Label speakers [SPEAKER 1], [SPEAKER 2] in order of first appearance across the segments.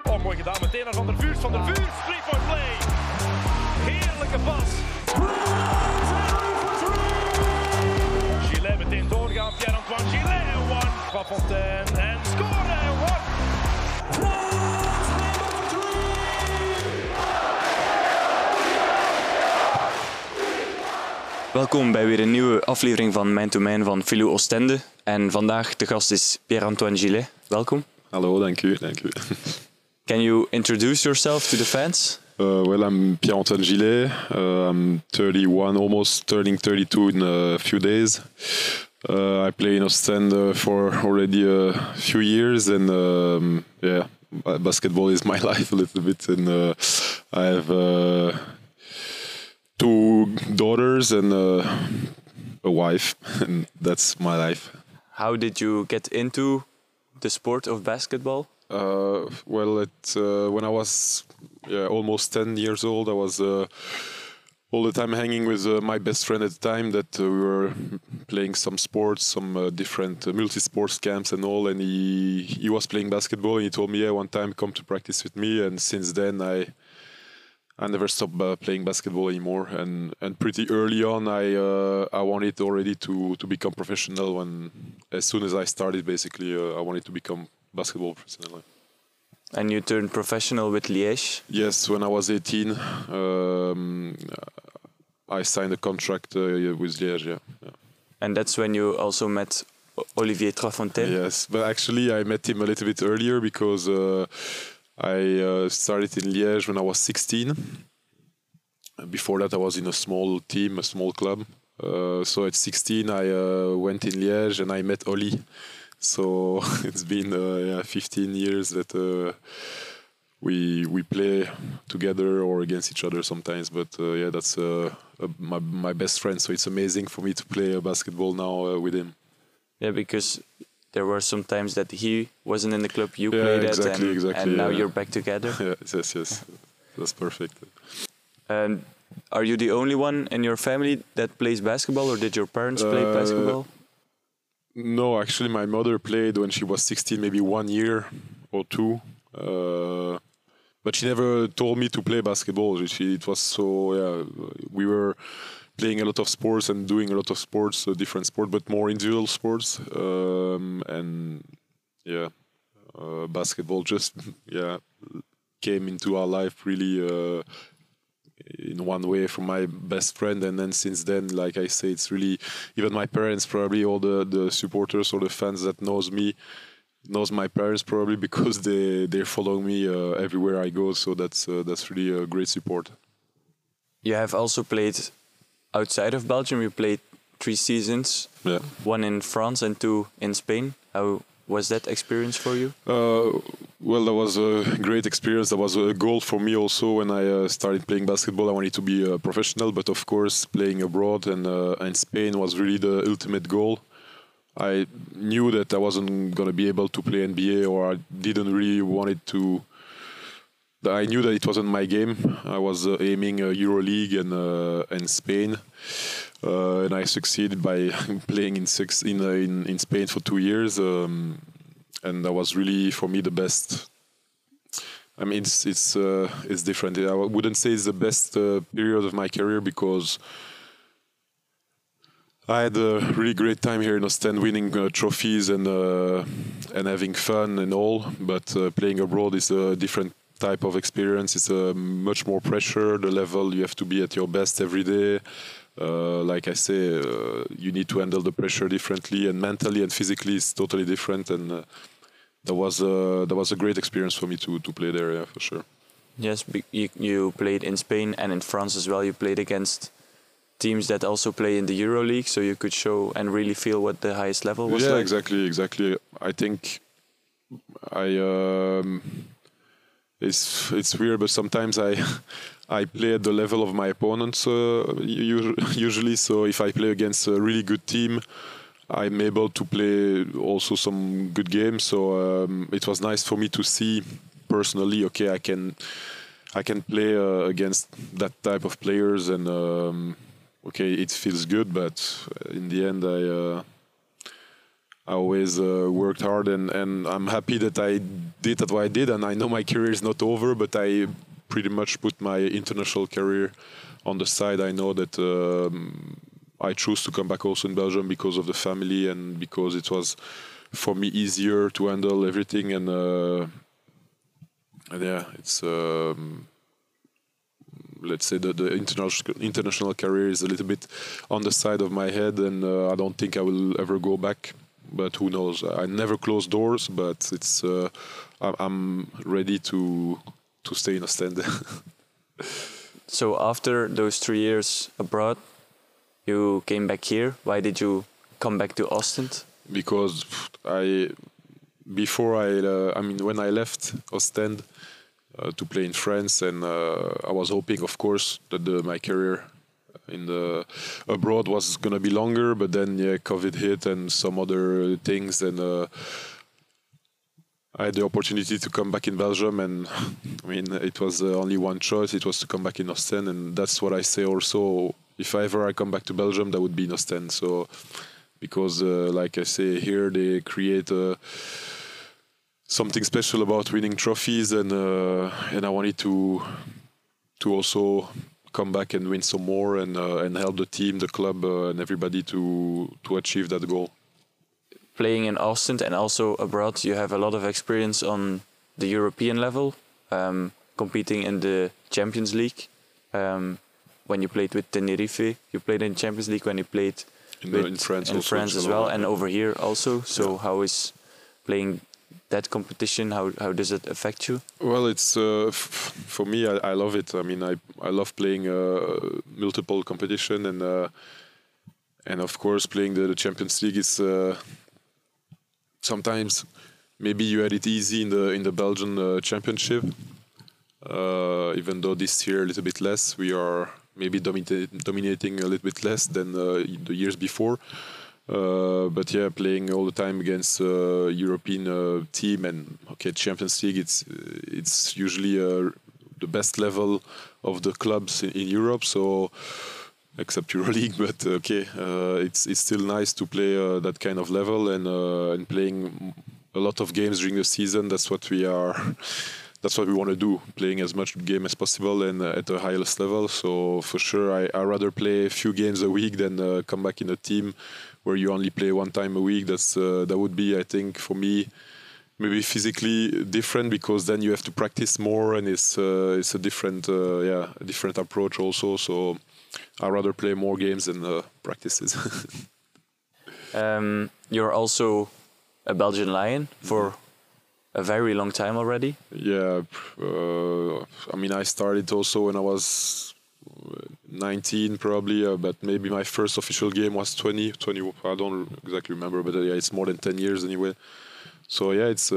[SPEAKER 1] Oh, mooi gedaan. Meteen naar Van der Vuurs. Van der Vuurs, 3-point play. Heerlijke pas. Gillet meteen doorgaan. Pierre-Antoine Gillet. One. Van Fontaine. En scoren. One.
[SPEAKER 2] Welkom bij weer een nieuwe aflevering van Man to Man van Filou Oostende. En vandaag de gast is Pierre-Antoine Gillet. Welkom.
[SPEAKER 3] Hallo, dank u.
[SPEAKER 2] Can you introduce yourself to the fans?
[SPEAKER 3] Well, I'm Pierre-Antoine Gillet. I'm 31, almost turning 32 in a few days. I play in Ostende for already a few years, and basketball is my life a little bit. And I have two daughters and a wife, and that's my life.
[SPEAKER 2] How did you get into the sport of basketball?
[SPEAKER 3] When I was almost 10 years old, I was all the time hanging with my best friend at the time. That we were playing some sports, some different multi-sports camps and all. And he was playing basketball, and he told me, "Yeah, one time come to practice with me." And since then, I never stopped playing basketball anymore. And pretty early on, I wanted already to become professional. When as soon as I started, basically, I wanted to become basketball professional.
[SPEAKER 2] And you turned professional with Liège?
[SPEAKER 3] Yes, when I was 18, I signed a contract with Liège. Yeah.
[SPEAKER 2] And that's when you also met Olivier Trafontaine?
[SPEAKER 3] Yes, but actually I met him a little bit earlier because I started in Liège when I was 16. Before that, I was in a small team, a small club. So at 16, I went in Liège and I met Oli. So it's been 15 years that we play together or against each other sometimes. But that's my best friend. So it's amazing for me to play basketball now with him.
[SPEAKER 2] Yeah, because there were some times that he wasn't in the club you played
[SPEAKER 3] exactly,
[SPEAKER 2] at, and now you're back together.
[SPEAKER 3] Yes, that's perfect.
[SPEAKER 2] And are you the only one in your family that plays basketball, or did your parents play basketball?
[SPEAKER 3] No, actually, my mother played when she was 16, maybe 1 year or two. But she never told me to play basketball. It was so, we were playing a lot of sports and doing a lot of sports, different sports, but more individual sports. Basketball just, came into our life really in one way from my best friend. And then since then, like I say, it's really, even my parents, probably all the supporters or the fans that knows my parents probably because they follow me everywhere I go. So that's really a great support.
[SPEAKER 2] You have also played outside of Belgium. You played 3 seasons, 1 in France and 2 in Spain. How was that experience for you?
[SPEAKER 3] Well, that was a great experience. That was a goal for me also when I started playing basketball. I wanted to be a professional, but of course playing abroad and Spain was really the ultimate goal. I knew that I wasn't going to be able to play NBA, or I didn't really want it to. I knew that it wasn't my game. I was aiming EuroLeague and Spain, and I succeeded by playing in Spain for 2 years, and that was really for me the best. I mean, it's different. I wouldn't say it's the best period of my career because I had a really great time here in Ostend, winning trophies and having fun and all. But playing abroad is a different type of experience. It's much more pressure. The level, you have to be at your best every day. Like I say, you need to handle the pressure differently, and mentally and physically it's totally different. And that was a great experience for me to play there, yeah, for sure.
[SPEAKER 2] Yes, you played in Spain and in France as well. You played against teams that also play in the EuroLeague, so you could show and really feel what the highest level was like.
[SPEAKER 3] Yeah, exactly. I think it's weird, but sometimes I play at the level of my opponents usually. So if I play against a really good team, I'm able to play also some good games. So it was nice for me to see personally. Okay, I can play against that type of players, and okay, it feels good. But in the end, I always worked hard, and I'm happy that I did what I did. And I know my career is not over, but I pretty much put my international career on the side. I know that I chose to come back also in Belgium because of the family and because it was for me easier to handle everything. And yeah, it's let's say that the international career is a little bit on the side of my head, and I don't think I will ever go back. But who knows? I never close doors, but it's I'm ready to stay in Ostende.
[SPEAKER 2] So after those 3 years abroad, you came back here. Why did you come back to Ostend?
[SPEAKER 3] Because when I left Ostend to play in France, and I was hoping, of course, that my career abroad was gonna be longer. But then, COVID hit and some other things, and I had the opportunity to come back in Belgium, and I mean, it was only one choice. It was to come back in Ostend, and that's what I say also. If ever I come back to Belgium, that would be in Ostend. So, because like I say here, they create something special about winning trophies, and I wanted to also come back and win some more, and help the team, the club, and everybody to achieve that goal.
[SPEAKER 2] Playing in Ostend and also abroad, you have a lot of experience on the European level, competing in the Champions League. When you played with Tenerife, you played in Champions League. When you played
[SPEAKER 3] in France
[SPEAKER 2] as well, and over here also. So how is playing that competition? How does it affect you?
[SPEAKER 3] Well, it's for me. I love it. I mean, I love playing multiple competition, and of course playing the Champions League is sometimes maybe you had it easy in the Belgian Championship. Even though this year a little bit less, we are maybe dominating a little bit less than the years before. But yeah, playing all the time against European team, and Champions League, it's usually the best level of the clubs in Europe. So except EuroLeague, but it's still nice to play that kind of level, and playing a lot of games during the season. That's what we are. That's what we want to do, playing as much game as possible and at the highest level. So for sure, I rather play a few games a week than come back in a team where you only play one time a week. That would be, I think, for me, maybe physically different, because then you have to practice more, and it's a different approach also. So I rather play more games than practices.
[SPEAKER 2] You're also a Belgian Lion for a very long time already.
[SPEAKER 3] Yeah, I mean, I started also when I was 19 probably, but maybe my first official game was 20. I don't exactly remember, but it's more than 10 years anyway. So yeah, it's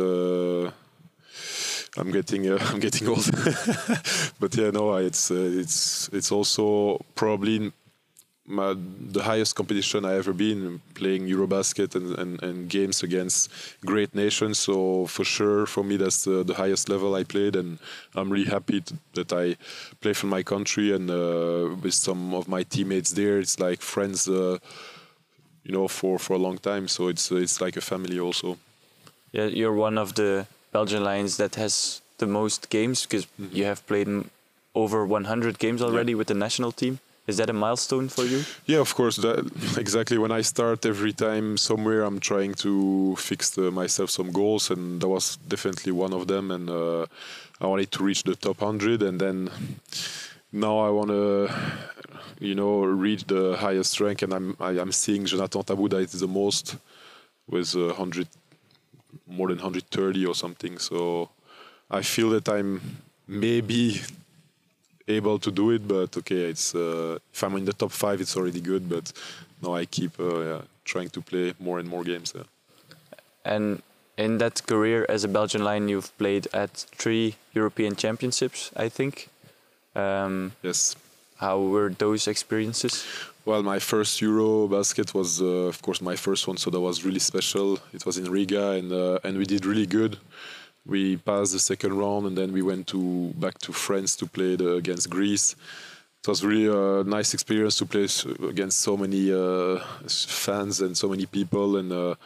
[SPEAKER 3] I'm getting old. But yeah, no, it's also probably the highest competition I ever been, playing Eurobasket and games against great nations. So for sure, for me, that's the highest level I played, and I'm really happy that I play for my country, and with some of my teammates there, it's like friends, for a long time. So it's like a family also.
[SPEAKER 2] Yeah, you're one of the Belgian Lions that has the most games, because you have played over 100 games already with the national team. Is that a milestone for you? Yeah,
[SPEAKER 3] of course. Exactly. When I start every time somewhere, I'm trying to fix myself some goals, and that was definitely one of them. And I wanted to reach the top 100, and then now I want to, reach the highest rank. And I'm seeing Jonathan Tabouda is the most, with 100, more than 130 or something. So I feel that I'm maybe able to do it, but it's if I'm in the top 5, it's already good. But now I keep trying to play more and more games.
[SPEAKER 2] And in that career as a Belgian Lion, you've played at 3 European Championships, I think.
[SPEAKER 3] Yes.
[SPEAKER 2] How were those experiences?
[SPEAKER 3] Well, my first Eurobasket was, of course, my first one, so that was really special. It was in Riga, and we did really good. We passed the second round, and then we went back to France to play against Greece. It was really a nice experience to play against so many fans and so many people,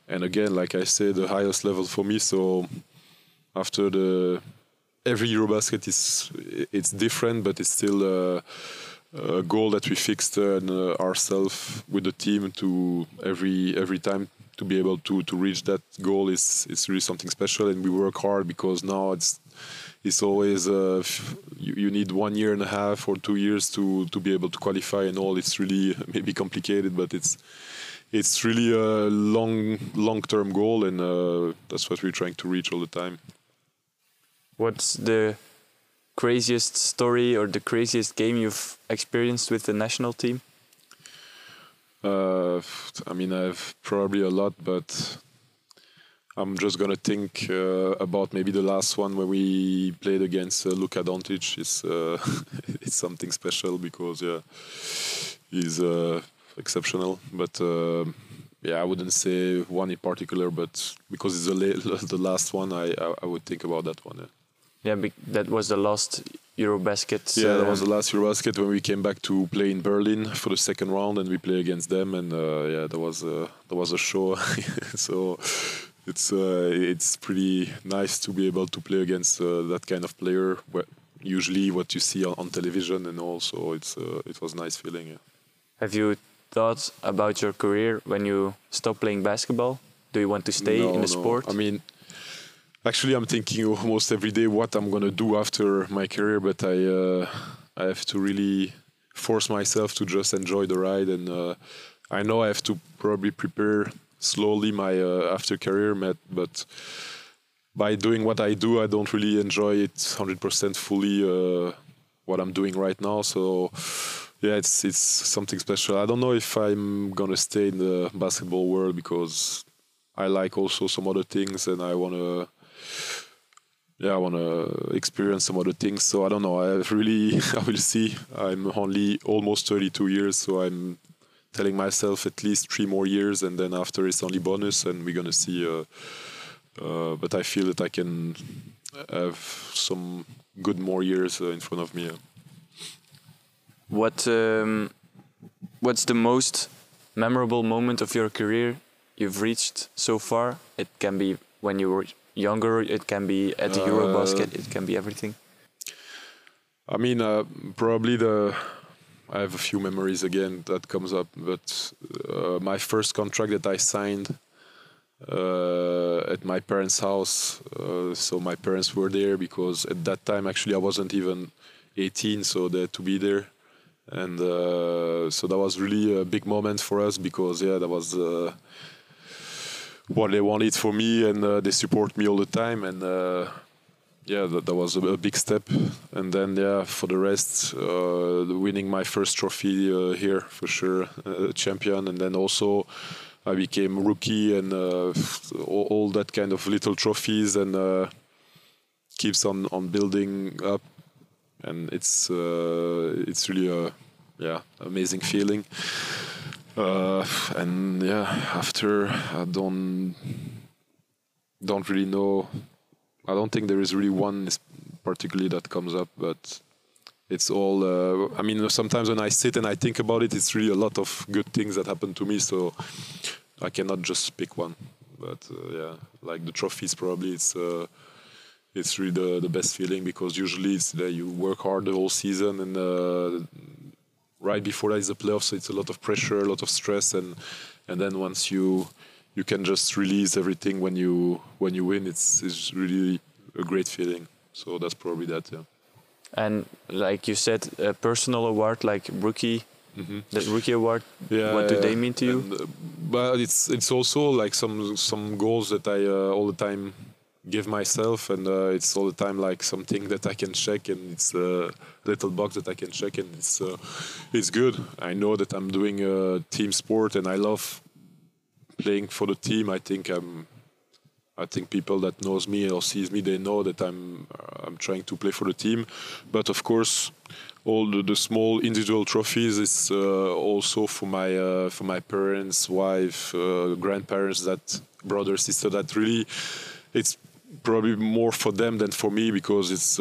[SPEAKER 3] and again, like I said, the highest level for me. So after every Eurobasket it's different, but it's still a goal that we fixed ourselves with the team to every time to be able to reach that goal is really something special, and we work hard because now it's always you need 1 year and a half or 2 years to be able to qualify and all. It's really maybe complicated, but it's really a long-term goal, and that's what we're trying to reach all the time.
[SPEAKER 2] What's the craziest story or the craziest game you've experienced with the national team?
[SPEAKER 3] I mean, I've probably a lot, but I'm just gonna think about maybe the last one where we played against Luka Doncic. It's something special because he's exceptional. But I wouldn't say one in particular, but because it's the last one, I would think about that one.
[SPEAKER 2] Yeah, that was the last Eurobasket.
[SPEAKER 3] Yeah, that was the last Eurobasket when we came back to play in Berlin for the second round, and we play against them, and that was a show. So it's pretty nice to be able to play against that kind of player. Usually, what you see on television, and also it was a nice feeling. Yeah.
[SPEAKER 2] Have you thought about your career when you stop playing basketball? Do you want to stay in the sport?
[SPEAKER 3] I mean, actually, I'm thinking almost every day what I'm gonna do after my career, but I have to really force myself to just enjoy the ride, and I know I have to probably prepare slowly my after career, but by doing what I do, I don't really enjoy it 100% fully. What I'm doing right now, so yeah, it's something special. I don't know if I'm gonna stay in the basketball world because I like also some other things, and I wanna experience some other things. So I don't know. I will see. I'm only almost 32 years, so I'm telling myself at least 3 more years, and then after it's only bonus, and we're gonna see. But I feel that I can have some good more years in front of me.
[SPEAKER 2] What's the most memorable moment of your career you've reached so far? It can be when you were younger, it can be at the Eurobasket, it can be everything.
[SPEAKER 3] I mean, probably I have a few memories again that comes up, but my first contract that I signed at my parents' house, so my parents were there because at that time actually I wasn't even 18, so they had to be there, and so that was really a big moment for us because that was what they wanted for me, and they support me all the time, and that was a big step. And then for the rest, winning my first trophy here for sure, champion, and then also I became rookie, and all that kind of little trophies, and keeps on building up, and it's really a amazing feeling. And after I don't really know. I don't think there is really one particularly that comes up, but it's all. I mean, sometimes when I sit and I think about it, it's really a lot of good things that happen to me. So I cannot just pick one. But like the trophies, probably it's really the best feeling because usually it's you work hard the whole season, and right before that is the playoffs, so it's a lot of pressure, a lot of stress, and then once you can just release everything when you win, it's really a great feeling. So that's probably that, yeah.
[SPEAKER 2] And like you said, a personal award like rookie, the rookie award. What do they mean to you?
[SPEAKER 3] And, but it's also like some goals that I all the time give myself, and it's all the time like something that I can check, and it's a little box that I can check, and it's good. I know that I'm doing a team sport, and I love playing for the team. I think people that knows me or sees me, they know that I'm trying to play for the team. But of course, all the small individual trophies is also for my parents, wife, grandparents, that brother, sister. That really, it's probably more for them than for me because it's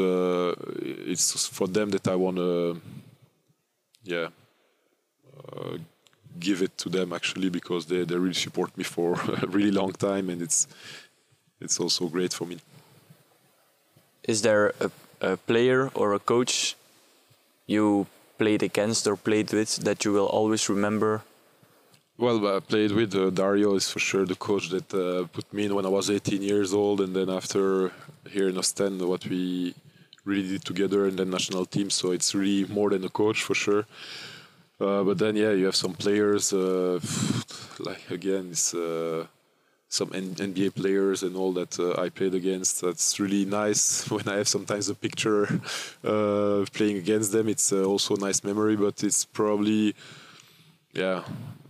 [SPEAKER 3] for them that I want to give it to them actually, because they really support me for a really long time, and it's also great for me.
[SPEAKER 2] Is there a player or a coach you played against or played with that you will always remember?
[SPEAKER 3] Well, I played with Dario is for sure the coach that put me in when I was 18 years old, and then after here in Ostend, what we really did together in the national team. So it's really more than a coach for sure. But then, yeah, you have some players, like again, it's some NBA players and all that I played against. That's really nice when I have sometimes a picture playing against them. It's also a nice memory, but it's probably, yeah,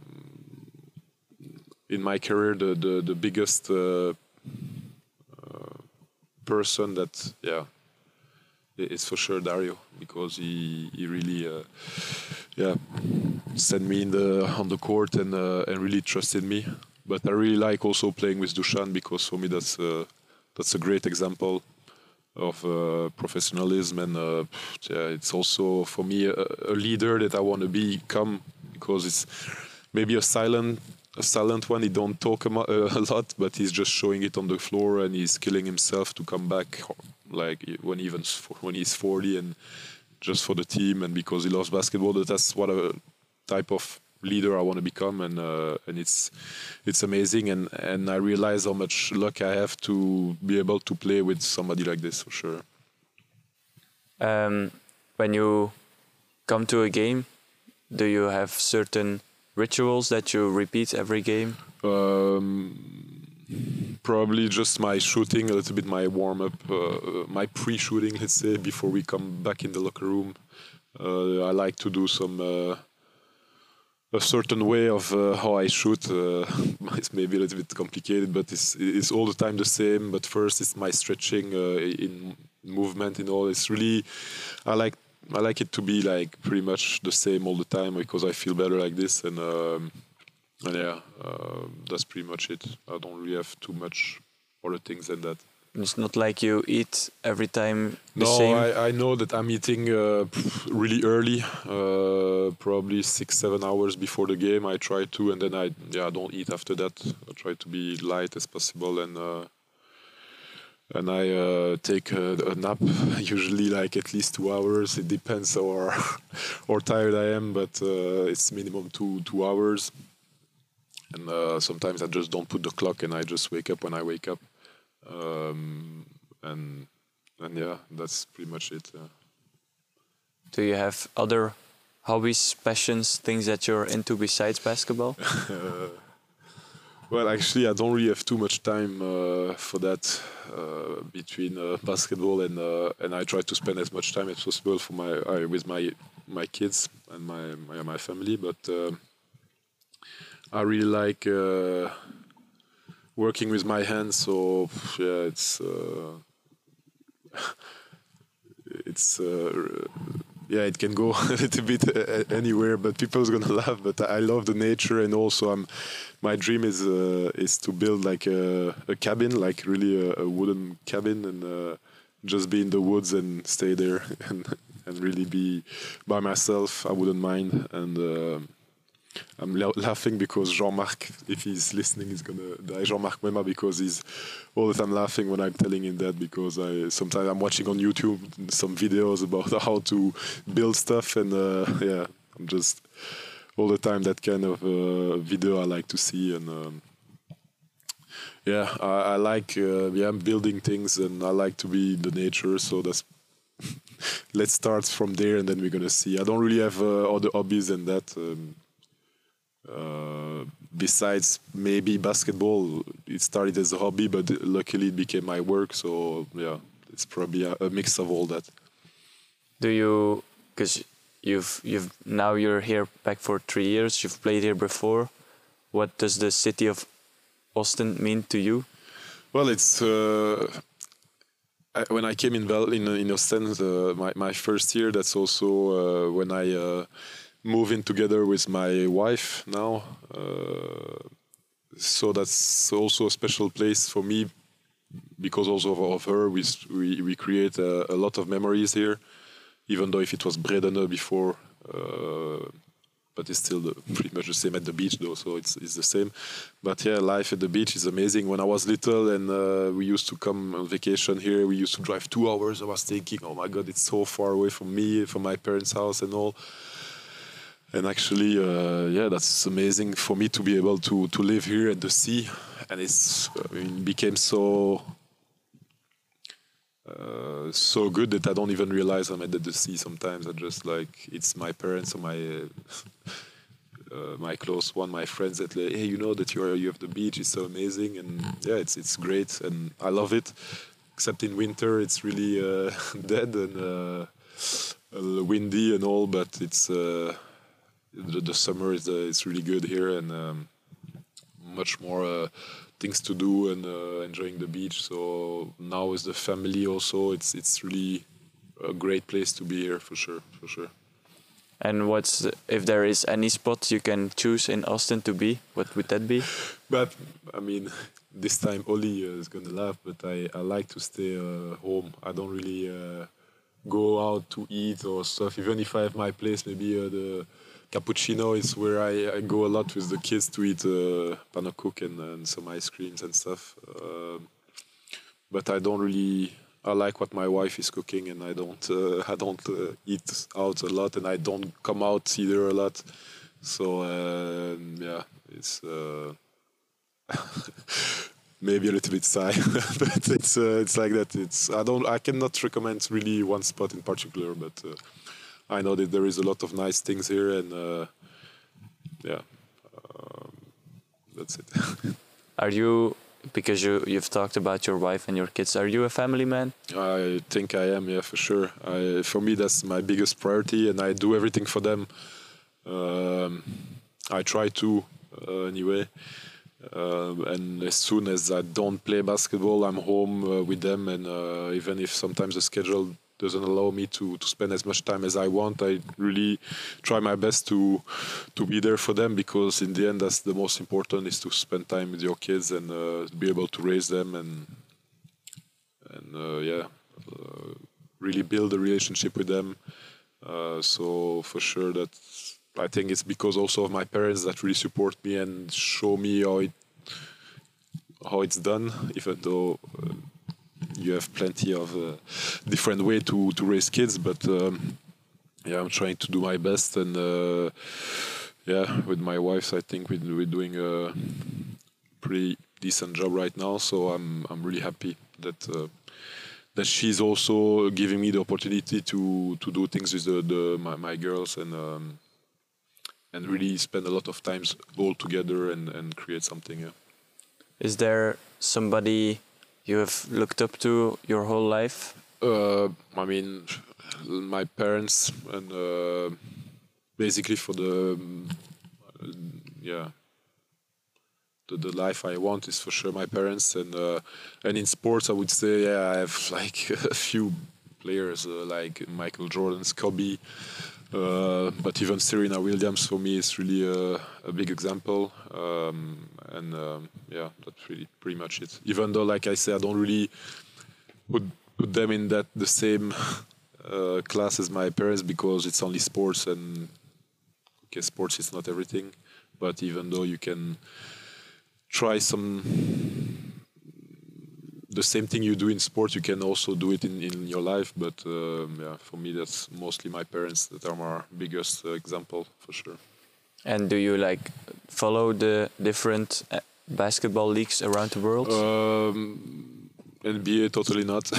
[SPEAKER 3] in my career, the biggest person that, yeah, it's for sure Dario, because he really sent me on the court and really trusted me. But I really like also playing with Dusan, because for me that's a great example of professionalism, and it's also for me a leader that I want to become, because it's maybe a silent one. He don't talk a lot, but he's just showing it on the floor, and he's killing himself to come back, like when he's 40, and just for the team and because he loves basketball. That's what a type of leader I want to become, and it's amazing, and I realize how much luck I have to be able to play with somebody like this, for sure.
[SPEAKER 2] When you come to a game, do you have certain rituals that you repeat every game?
[SPEAKER 3] Probably just my shooting, a little bit my warm-up, my pre-shooting, let's say, before we come back in the locker room. I like to do some a certain way of how I shoot. It's maybe a little bit complicated, but it's all the time the same. But first, it's my stretching in movement and all. It's really, I like it to be like pretty much the same all the time, because I feel better like this. And yeah, that's pretty much it. I don't really have too much other things than that.
[SPEAKER 2] It's not like you eat every time the same?
[SPEAKER 3] No, I know that I'm eating really early, probably 6-7 hours before the game. I try to, and then I don't eat after that. I try to be light as possible, and I take a nap, usually like at least 2 hours. It depends how tired I am, but it's minimum 2 hours. And sometimes I just don't put the clock, and I just wake up when I wake up. And yeah, that's pretty much it.
[SPEAKER 2] Do you have other hobbies, passions, things that you're into besides basketball?
[SPEAKER 3] Well, actually, I don't really have too much time for that between basketball and I try to spend as much time as possible for with my kids and my family. But I really like working with my hands, so yeah, yeah, it can go a little bit anywhere, but people's gonna laugh. But I love the nature, and also my dream is to build like a cabin, like really a wooden cabin, and just be in the woods and stay there and really be by myself. I wouldn't mind. And I'm laughing because Jean-Marc, if he's listening, is gonna die. Jean-Marc Mema, because he's all the time laughing when I'm telling him that, because sometimes I'm watching on YouTube some videos about how to build stuff, and yeah, I'm just all the time that kind of video I like to see, and yeah, I like I'm building things, and I like to be in the nature, so that's let's start from there, and then we're gonna see. I don't really have other hobbies than that. Besides maybe basketball, it started as a hobby, but luckily it became my work. So yeah, it's probably a mix of all that.
[SPEAKER 2] Do you, because now you're here back for 3 years. You've played here before. What does the city of Ostend mean to you?
[SPEAKER 3] Well, it's when I came in Ostend, my first year. That's also when I move in together with my wife now, so that's also a special place for me, because also of her we create a lot of memories here, even though if it was Bredene before, but it's still pretty much the same at the beach though, so it's the same. But yeah, life at the beach is amazing. When I was little and we used to come on vacation here, we used to drive 2 hours. I was thinking, oh my God, it's so far away from me, from my parents' house and all. And actually, yeah, that's amazing for me to be able to live here at the sea. And it became so good that I don't even realize I'm at the sea sometimes. I just it's my parents or my close one, my friends that hey, you know that you have the beach. It's so amazing, and yeah, it's great, and I love it. Except in winter, it's really dead and windy and all. But it's the summer is really good here, and much more things to do and enjoying the beach. So now with the family also, it's really a great place to be here for sure.
[SPEAKER 2] And if there is any spot you can choose in Austin to be, what would that be?
[SPEAKER 3] But I mean, this time Oli is gonna laugh, but I like to stay home. I don't really go out to eat or stuff. Even if I have my place, maybe the Cappuccino is where I go a lot with the kids to eat panna cook and some ice creams and stuff. But I don't really. I like what my wife is cooking, and I don't eat out a lot, and I don't come out either a lot. So yeah, it's maybe a little bit shy, but it's like that. I cannot recommend really one spot in particular, but. I know that there is a lot of nice things here, and yeah, that's it.
[SPEAKER 2] Are you, because you've talked about your wife and your kids, are you a family man?
[SPEAKER 3] I think I am, yeah, for sure. For me, that's my biggest priority, and I do everything for them. I try to, anyway. And as soon as I don't play basketball, I'm home with them, and even if sometimes the schedule doesn't allow me to spend as much time as I want, I really try my best to be there for them, because in the end that's the most important, is to spend time with your kids and be able to raise them and really build a relationship with them. So for sure that I think it's because also of my parents that really support me and show me how it's done, even though you have plenty of different way to raise kids, but yeah, I'm trying to do my best, and yeah, with my wife, I think we're doing a pretty decent job right now. So I'm really happy that she's also giving me the opportunity to do things with my girls and really spend a lot of times all together and create something. Yeah.
[SPEAKER 2] Is there somebody you have looked up to your whole life?
[SPEAKER 3] I mean, my parents, and basically for the life I want is for sure my parents, and in sports I would say I have like a few players like Michael Jordan, Kobe, but even Serena Williams for me is really a big example, and yeah, that's really pretty much it. Even though, like I say, I don't really put them in the same class as my parents, because it's only sports, and okay, sports is not everything. But even though you can try the same thing you do in sports, you can also do it in your life. But yeah, for me, that's mostly my parents that are my biggest example for sure.
[SPEAKER 2] And do you follow the different basketball leagues around the world?
[SPEAKER 3] NBA, totally not.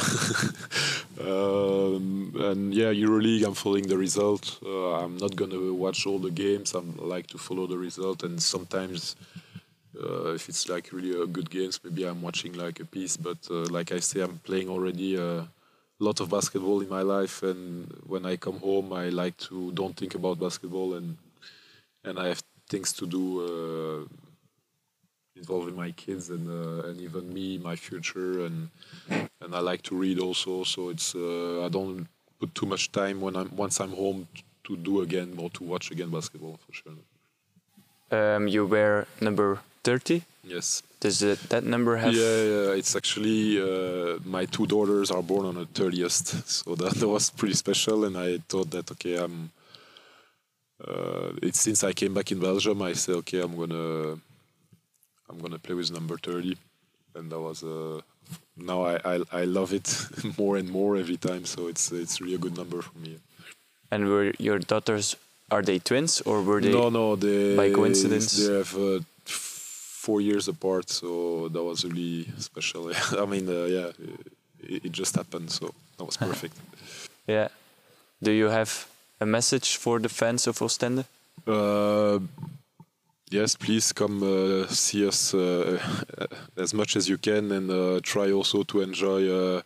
[SPEAKER 3] And yeah, EuroLeague, I'm following the result. I'm not gonna watch all the games. I like to follow the result, and sometimes if it's really a good games, maybe I'm watching a piece. But like I say, I'm playing already a lot of basketball in my life, and when I come home, I like to don't think about basketball, and I have things to do involving my kids and even me, my future, and I like to read also. So it's I don't put too much time once I'm home to do again or to watch again basketball for sure.
[SPEAKER 2] You wear number 30?
[SPEAKER 3] Yes.
[SPEAKER 2] Does that number have?
[SPEAKER 3] Yeah. It's actually my two daughters are born on the 30th, so that was pretty special. And I thought that okay, it's since I came back in Belgium, I said, okay, I'm gonna play with number 30, and that was now I love it more and more every time. So it's really a good number for me.
[SPEAKER 2] And were your daughters, are they twins or were they?
[SPEAKER 3] No, they
[SPEAKER 2] by coincidence?
[SPEAKER 3] They have 4 years apart, so that was really special. I mean, it just happened, so that was perfect.
[SPEAKER 2] Yeah. Do you have a message for the fans of Ostende?
[SPEAKER 3] Yes, please come see us as much as you can, and try also to enjoy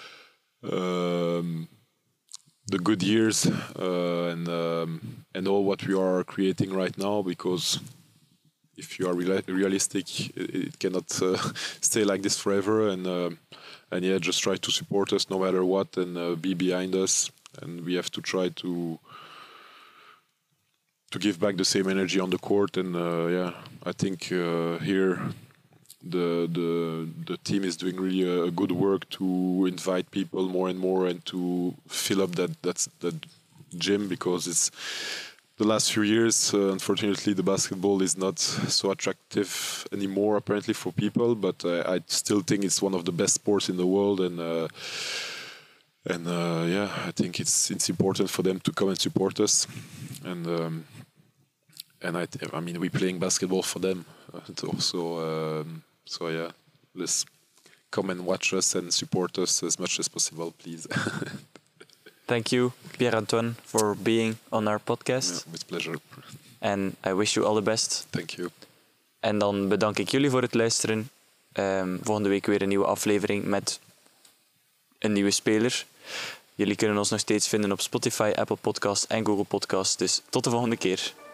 [SPEAKER 3] the good years and all what we are creating right now. Because if you are realistic, it cannot stay like this forever. And yeah, just try to support us no matter what, and be behind us. And we have to try to give back the same energy on the court. And yeah, I think here the team is doing really a good work to invite people more and more, and to fill up that gym, because it's the last few years, unfortunately, the basketball is not so attractive anymore apparently for people, but I still think it's one of the best sports in the world. And yeah, I think it's important for them to come and support us. And I mean, we're playing basketball for them also. So yeah, let's come and watch us and support us as much as possible, please.
[SPEAKER 2] Thank you, Pierre-Antoine, for being on our podcast.
[SPEAKER 3] Yeah, with pleasure.
[SPEAKER 2] And I wish you all the best.
[SPEAKER 3] Thank you.
[SPEAKER 2] En dan bedank ik jullie voor het luisteren. Volgende week weer een nieuwe aflevering met een nieuwe speler. Jullie kunnen ons nog steeds vinden op Spotify, Apple Podcasts en Google Podcasts. Dus tot de volgende keer.